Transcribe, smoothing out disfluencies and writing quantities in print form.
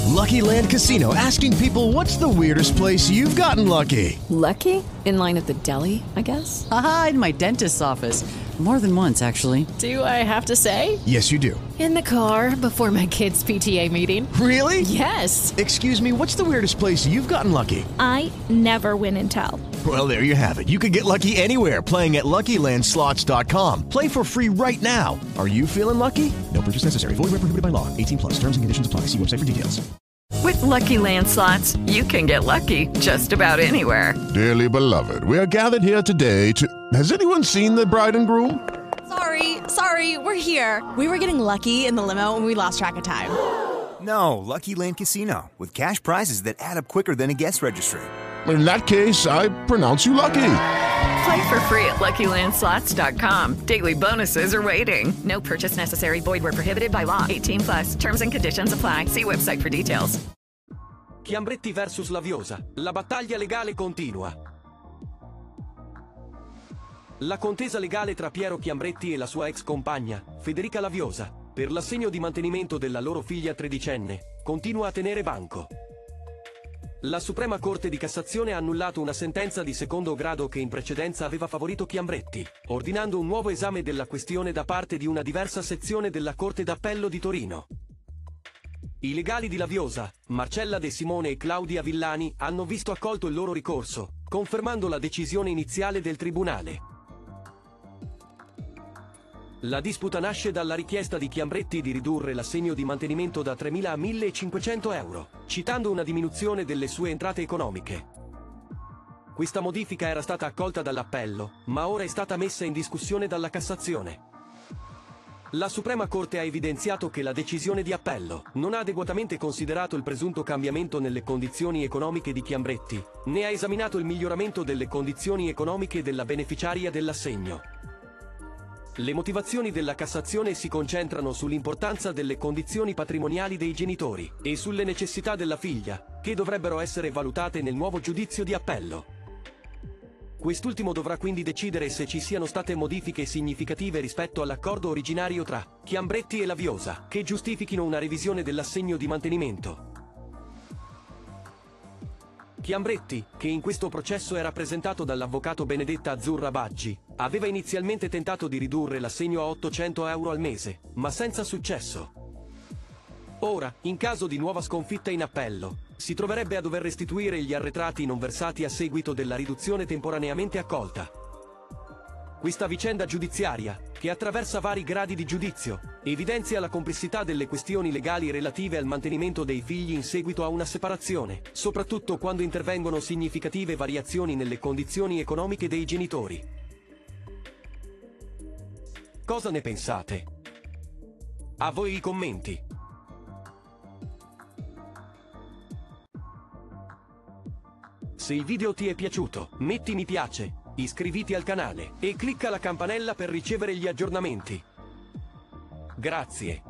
Lucky Land Casino, asking people, what's the weirdest place you've gotten lucky? Lucky? In line at the deli, I guess? Aha, in my dentist's office. More than once, actually. Do I have to say? Yes, you do. In the car before my kids' PTA meeting. Really? Yes. Excuse me, what's the weirdest place you've gotten lucky? I never win and tell. Well, there you have it. You can get lucky anywhere, playing at LuckyLandSlots.com. Play for free right now. Are you feeling lucky? No purchase necessary. Void where prohibited by law. 18 plus. Terms and conditions apply. See website for details. With Lucky Land Slots, you can get lucky just about anywhere. Dearly beloved, we are gathered here today to... Has anyone seen the bride and groom? Sorry, we're here. We were getting lucky in the limo and we lost track of time. No, Lucky Land Casino, with cash prizes that add up quicker than a guest registry. In that case, I pronounce you lucky. Play for free at LuckyLandSlots.com. Daily bonuses are waiting. No purchase necessary. Void where prohibited by law. 18 plus. Terms and conditions apply. See website for details. Chiambretti versus Laviosa. La battaglia legale continua. La contesa legale tra Piero Chiambretti e la sua ex compagna, Federica Laviosa, per l'assegno di mantenimento della loro figlia tredicenne, continua a tenere banco. La Suprema Corte di Cassazione ha annullato una sentenza di secondo grado che in precedenza aveva favorito Chiambretti, ordinando un nuovo esame della questione da parte di una diversa sezione della Corte d'Appello di Torino. I legali di Laviosa, Marcella De Simone e Claudia Villani, hanno visto accolto il loro ricorso, confermando la decisione iniziale del tribunale. La disputa nasce dalla richiesta di Chiambretti di ridurre l'assegno di mantenimento da 3.000 a 1.500 euro, citando una diminuzione delle sue entrate economiche. Questa modifica era stata accolta dall'appello, ma ora è stata messa in discussione dalla Cassazione. La Suprema Corte ha evidenziato che la decisione di appello non ha adeguatamente considerato il presunto cambiamento nelle condizioni economiche di Chiambretti, né ha esaminato il miglioramento delle condizioni economiche della beneficiaria dell'assegno. Le motivazioni della Cassazione si concentrano sull'importanza delle condizioni patrimoniali dei genitori e sulle necessità della figlia, che dovrebbero essere valutate nel nuovo giudizio di appello. Quest'ultimo dovrà quindi decidere se ci siano state modifiche significative rispetto all'accordo originario tra Chiambretti e Laviosa, che giustifichino una revisione dell'assegno di mantenimento. Chiambretti, che in questo processo è rappresentato dall'avvocato Benedetta Azzurra Baggi, aveva inizialmente tentato di ridurre l'assegno a 800 euro al mese, ma senza successo. Ora, in caso di nuova sconfitta in appello, si troverebbe a dover restituire gli arretrati non versati a seguito della riduzione temporaneamente accolta. Questa vicenda giudiziaria, che attraversa vari gradi di giudizio, evidenzia la complessità delle questioni legali relative al mantenimento dei figli in seguito a una separazione, soprattutto quando intervengono significative variazioni nelle condizioni economiche dei genitori. Cosa ne pensate? A voi i commenti. Se il video ti è piaciuto, metti mi piace, iscriviti al canale e clicca la campanella per ricevere gli aggiornamenti. Grazie.